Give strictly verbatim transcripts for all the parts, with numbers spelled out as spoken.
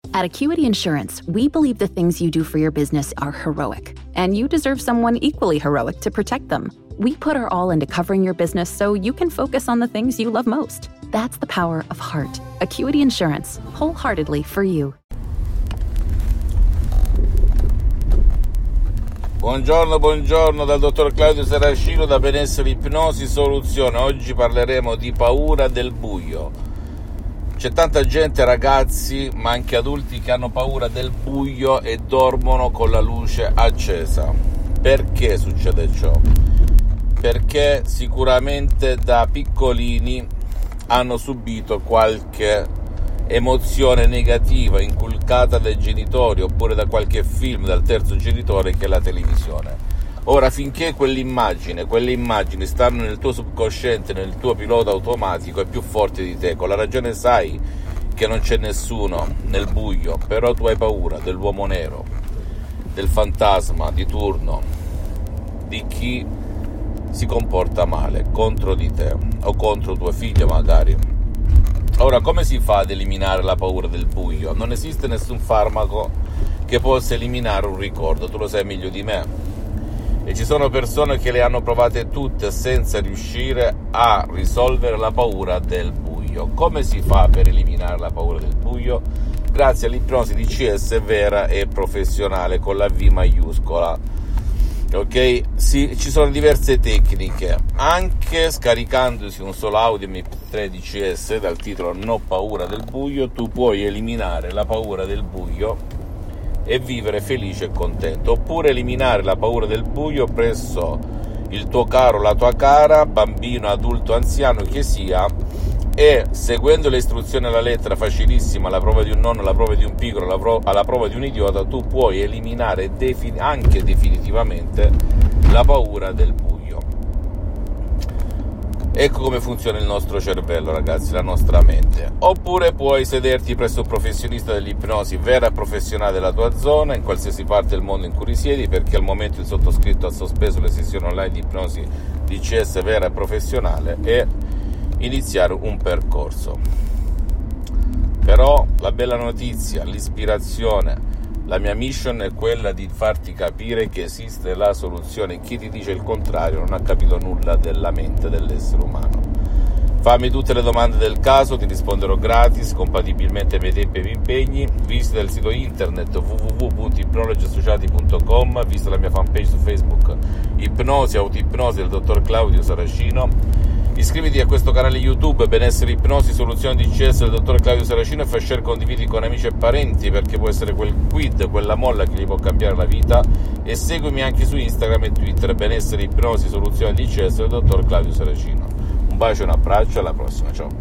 At Acuity Insurance, we believe the things you do for your business are heroic, and you deserve someone equally heroic to protect them. We put our all into covering your business so you can focus on the things you love most. That's the power of heart. Acuity Insurance, wholeheartedly for you. Buongiorno, buongiorno dal dottor Claudio Saracino da Benessere Ipnosi Soluzione. Oggi parleremo di paura del buio. C'è tanta gente, ragazzi, ma anche adulti, che hanno paura del buio e dormono con la luce accesa. Perché succede ciò? Perché sicuramente da piccolini hanno subito qualche emozione negativa inculcata dai genitori oppure da qualche film dal terzo genitore, che è la televisione. Ora, finché quell'immagine, quelle immagini stanno nel tuo subconsciente, nel tuo pilota automatico, è più forte di te. Con la ragione sai che non c'è nessuno nel buio, però tu hai paura dell'uomo nero, del fantasma di turno, di chi si comporta male contro di te o contro tuo figlio magari. Ora, come si fa ad eliminare la paura del buio? Non esiste nessun farmaco che possa eliminare un ricordo, tu lo sai meglio di me. E ci sono persone che le hanno provate tutte senza riuscire a risolvere la paura del buio. Come si fa per eliminare la paura del buio? Grazie all'ipnosi D C S vera e professionale con la V maiuscola. Ok? Sì, ci sono diverse tecniche. Anche scaricandosi un solo audio M P tre D C S dal titolo No paura del buio, tu puoi eliminare la paura del buio e vivere felice e contento, oppure eliminare la paura del buio presso il tuo caro, la tua cara, bambino, adulto, anziano che sia, e seguendo le istruzioni alla lettera, facilissima, alla prova di un nonno, alla prova di un piccolo, alla, pro- alla prova di un idiota, tu puoi eliminare defin- anche definitivamente la paura del buio. Ecco come funziona il nostro cervello, ragazzi, la nostra mente. Oppure puoi sederti presso un professionista dell'ipnosi vera e professionale della tua zona, in qualsiasi parte del mondo in cui risiedi, perché al momento il sottoscritto ha sospeso le sessioni online di ipnosi D C S vera e professionale, e iniziare un percorso. Però la bella notizia, l'ispirazione, la mia mission è quella di farti capire che esiste la soluzione. Chi ti dice il contrario non ha capito nulla della mente dell'essere umano. Fammi tutte le domande del caso, ti risponderò gratis, compatibilmente ai miei tempi e miei impegni. Visita il sito internet w w w punto ipnologi associati punto com, visita la mia fanpage su Facebook Ipnosi Autoipnosi del dottor Claudio Saracino. Iscriviti a questo canale YouTube Benessere Ipnosi Soluzione D C S del dottor Claudio Saracino e fai share, condividi con amici e parenti, perché può essere quel quid, quella molla che gli può cambiare la vita. E seguimi anche su Instagram e Twitter Benessere Ipnosi Soluzione D C S del dottor Claudio Saracino. Un bacio e un abbraccio, alla prossima, ciao.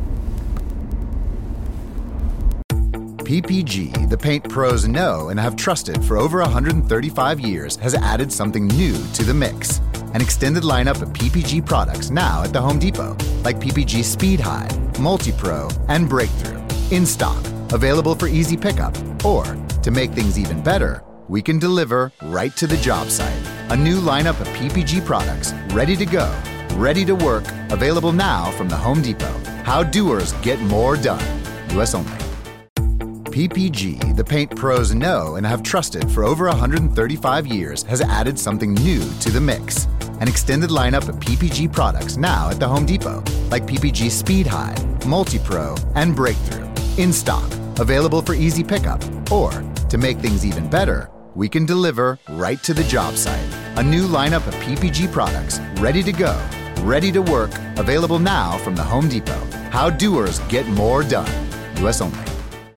P P G, the paint pros know and have trusted for over one hundred thirty-five years, has added something new to the mix. An extended lineup of P P G products now at the Home Depot, like P P G Speed High, Multi-Pro, and Breakthrough. In stock, available for easy pickup. Or, to make things even better, we can deliver right to the job site. A new lineup of P P G products, ready to go, ready to work, available now from the Home Depot. How doers get more done. U S only. P P G, the paint pros know and have trusted for over one hundred thirty-five years, has added something new to the mix. An extended lineup of P P G products now at the Home Depot, like P P G Speed High, Multi-Pro, and Breakthrough. In stock, available for easy pickup. Or, to make things even better, we can deliver right to the job site. A new lineup of P P G products, ready to go, ready to work, available now from the Home Depot. How doers get more done. U S only.